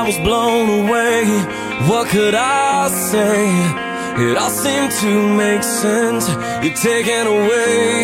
was blown away. What could I say? It all seemed to make sense. You're taking away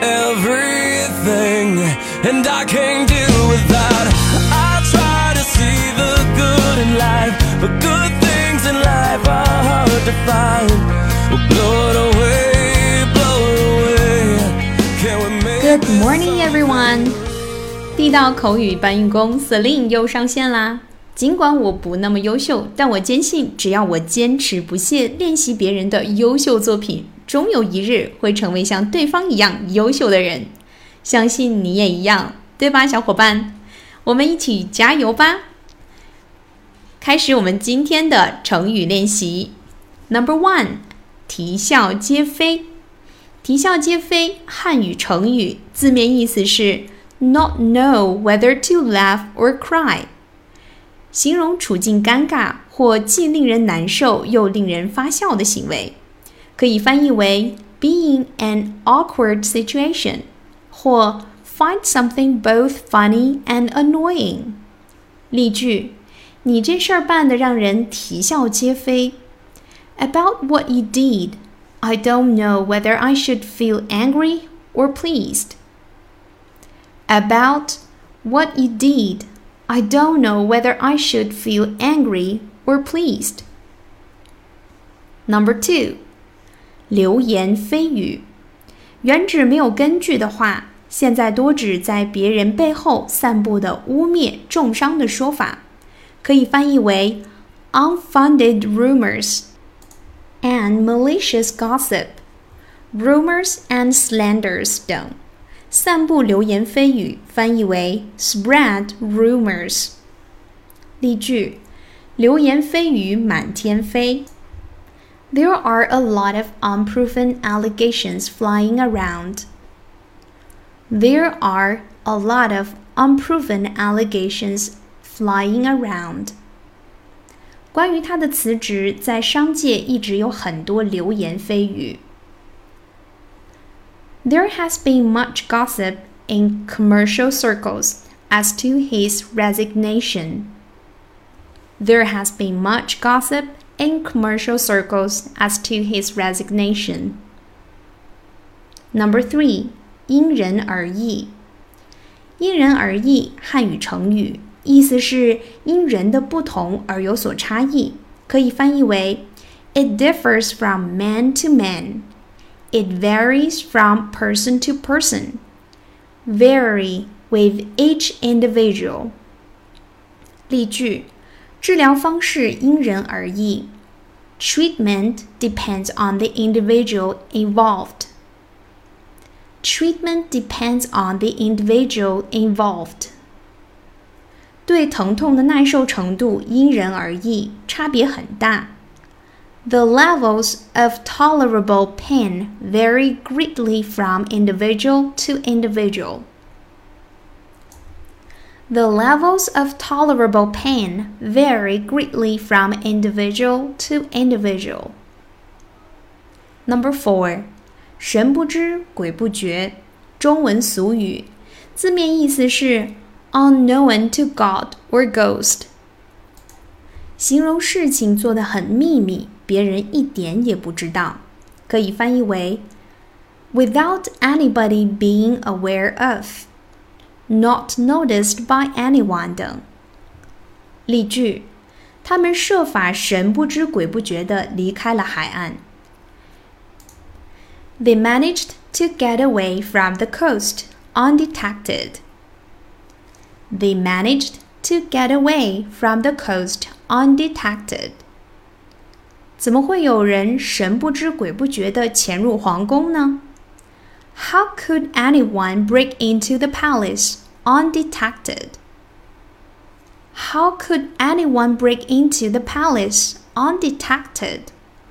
everything, and I can't deal with that. I try to see the good in life, but good things in life are hard to find. Blow it away, blow it away. Can we make Good morning, everyone. 地道口语搬运工 Celine 又上线啦。尽管我不那么优秀，但我坚信只要我坚持不懈练习别人的优秀作品，终有一日会成为像对方一样优秀的人。相信你也一样，对吧，小伙伴？我们一起加油吧！开始我们今天的成语练习。Number 1， 啼笑皆非。啼笑皆非，汉语成语，字面意思是 not know whether to laugh or cry， 形容处境尴尬或既令人难受又令人发笑的行为，可以翻译为 be in an awkward situation 或 find something both funny and annoying。 例句：你这事儿办得让人啼笑皆非。 About what you did, I don't know whether I should feel angry or pleased. About what you did, I don't know whether I should feel angry or pleased. Number 2， 流言蜚语，原指没有根据的话，现在多指在别人背后散布的污蔑、重伤的说法，可以翻译为 unfounded rumors and malicious gossip, rumors and slanders 等。散布流言蜚语翻译为 spread rumors。 例句：流言蜚语满天飞。 There are a lot of unproven allegations flying around. There are a lot of unproven allegations flying around. 关于他的辞职，在商界一直有很多流言蜚语。There has been much gossip in commercial circles as to his resignation. There has been much gossip in commercial circles as to his resignation. Number 3， 因人而异。因人而异，汉语成语，意思是因人的不同而有所差异，可以翻译为 It differs from man to man. It varies from person to person. Vary with each individual. 例句：治疗方式因人而异。 Treatment depends on the individual involved. Treatment depends on the individual involved. 对疼痛的耐受程度因人而异，差别很大。The levels of tolerable pain vary greatly from individual to individual. The levels of tolerable pain vary greatly from individual to individual. Number 4， 神不知鬼不觉，中文俗语，字面意思是 unknown to God or ghost， 形容事情做得很秘密，别人一点也不知道，可以翻译为 without anybody being aware of, not noticed by anyone 等。例句：他们设法神不知鬼不觉地离开了海岸。They managed to get away from the coast undetected. They managed to get away from the coast undetected. 怎么会有人神不知鬼不觉地潜入皇宫呢？ How could anyone break into the palace undetected? How could anyone break into the palace undetected?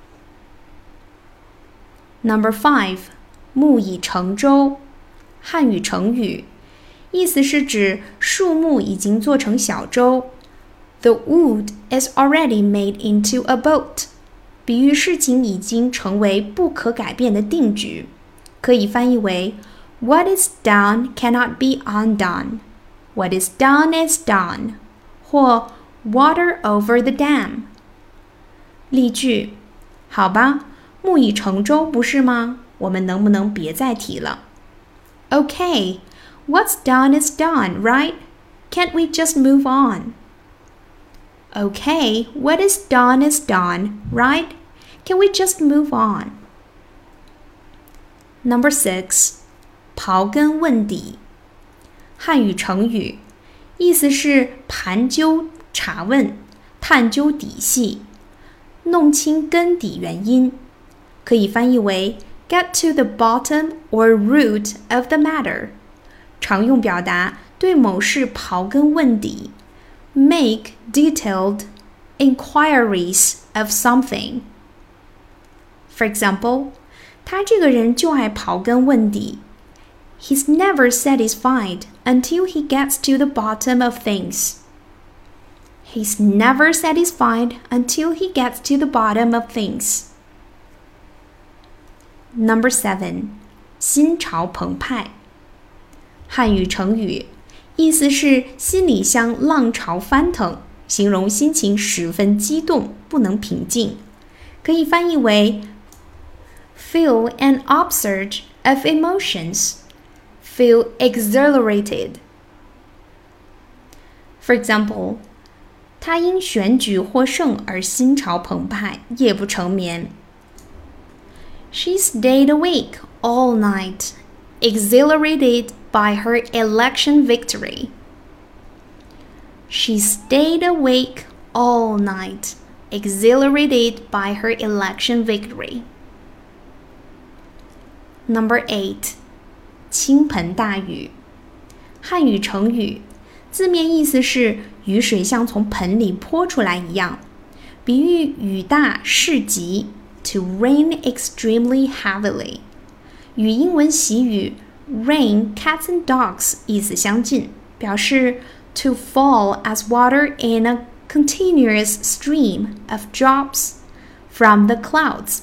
Number 5， 木已成舟，汉语成语，意思是指树木已经做成小舟。The wood is already made into a boat. 比喻事情已经成为不可改变的定局，可以翻译为 What is done cannot be undone. What is done is done. 或 water over the dam。例句，好吧，木已成舟，不是吗？我们能不能别再提了？ Okay, what's done is done, right? Can't we just move on? Okay, what is done, right? Can we just move on? Number 6. 刨根问底。汉语成语，意思是盘究、查问、探究底细，弄清根底原因，可以翻译为 get to the bottom or root of the matter。常用表达对某事刨根问底 make detailed inquiries of something. For example, 他这个人就爱刨根问底。He's never satisfied until he gets to the bottom of things. He's never satisfied until he gets to the bottom of things. Number 7. 心潮澎湃。汉语成语，意思是心里像浪潮翻腾，形容心情十分激动，不能平静，可以翻译为 feel an upsurge of emotions, feel exhilarated. For example, 他因选举获胜而心潮澎湃，夜不成眠。She stayed awake all night, exhilarated by her election victory. She stayed awake all night, exhilarated by her election victory. Number 8. 倾盆大雨。汉语成语，字面意思是雨水像从盆里泼出来一样，比喻雨大势急 to rain extremely heavily， 与英文习语 rain cats and dogs 意思相近，表示 to fall as water in a continuous stream of drops from the clouds.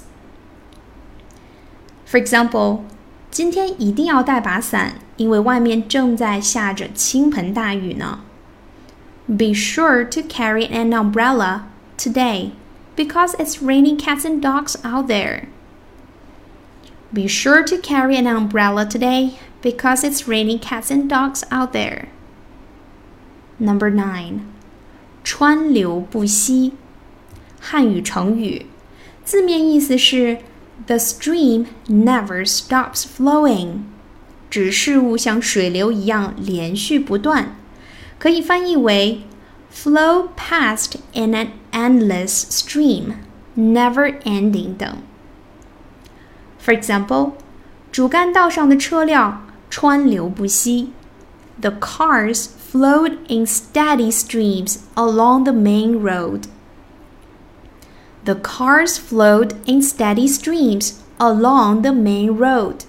For example, 今天一定要带把伞，因为外面正在下着倾盆大雨呢。Be sure to carry an umbrella today, because it's raining cats and dogs out there. Be sure to carry an umbrella today, because it's raining cats and dogs out there. Number 9. 川流不息。汉语成语，字面意思是The stream never stops flowing. 指事物像水流一样连续不断，可以翻译为 flow past in an endless stream, never ending 等。For example, 主干道上的车辆川流不息。The cars flowed in steady streams along the main road.The cars flowed in steady streams along the main road.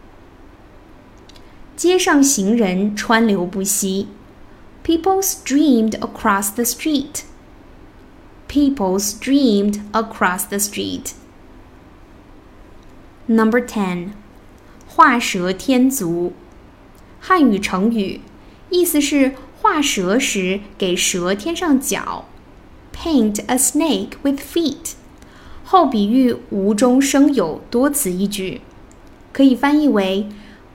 街上行人川流不息。People streamed across the street. People streamed across the street. Number 10. 画蛇添足。汉语成语，意思是画蛇时给蛇添上脚。Paint a snake with feet. 后比喻无中生有，多此一举，可以翻译为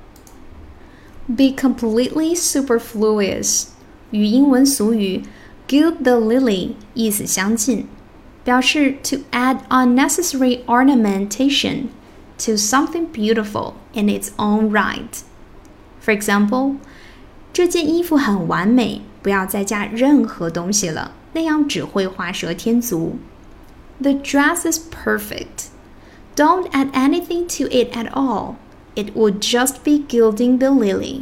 be completely superfluous， 与英文俗语 gild the lily 意思相近，表示 to add unnecessary ornamentation to something beautiful in its own right. For example, 这件衣服很完美，不要再加任何东西了，那样只会画蛇添足。The dress is perfect. Don't add anything to it at all. It would just be gilding the lily.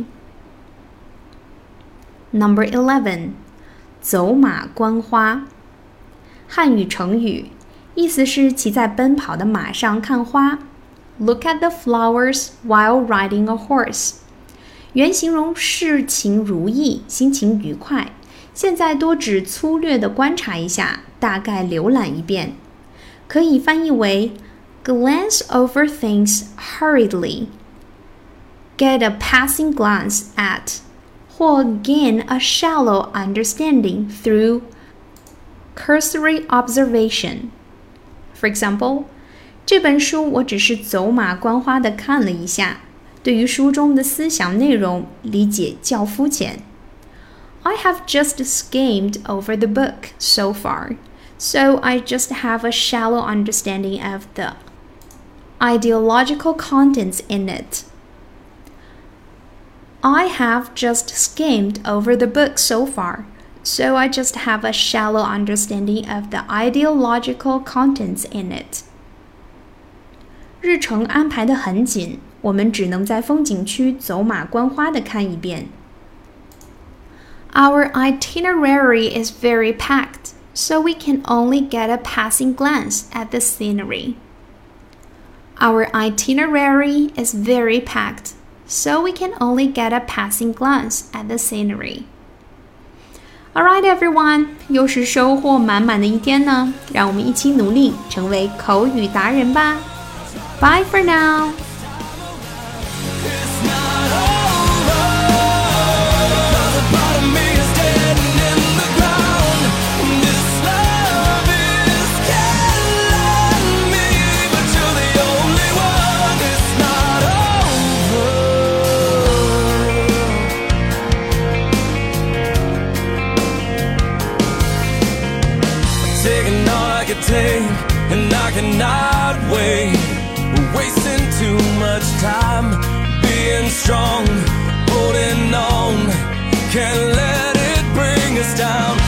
Number 11. 走马观花。汉语成语，意思是骑在奔跑的马上看花。Look at the flowers while riding a horse. 原形容事情如意，心情愉快。现在多指粗略地观察一下，大概浏览一遍，可以翻译为 glance over things hurriedly, get a passing glance at, 或 gain a shallow understanding through cursory observation. For example, 这本书我只是走马观花地看了一下，对于书中的思想内容理解较肤浅。I have just skimmed over the book so far, so I just have a shallow understanding of the ideological contents in it. I have just skimmed over the book so far, so I just have a shallow understanding of the ideological contents in it. 日程安排得很紧，我们只能在风景区走马观花地看一遍。Our itinerary is very packed, so we can only get a passing glance at the scenery. Our itinerary is very packed, so we can only get a passing glance at the scenery. Alright, everyone, 又是收获满满的一天呢，让我们一起努力成为口语达人吧。Bye for now. Taking all I could take, and I cannot wait. We're wasting too much time being strong, holding on. Can't let it bring us down.